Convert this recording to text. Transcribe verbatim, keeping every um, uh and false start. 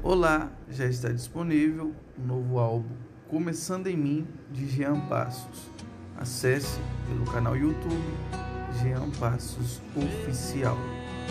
Olá, já está disponível o novo álbum Começando em Mim, de Jean Passos. Acesse pelo canal YouTube Jean Passos Oficial.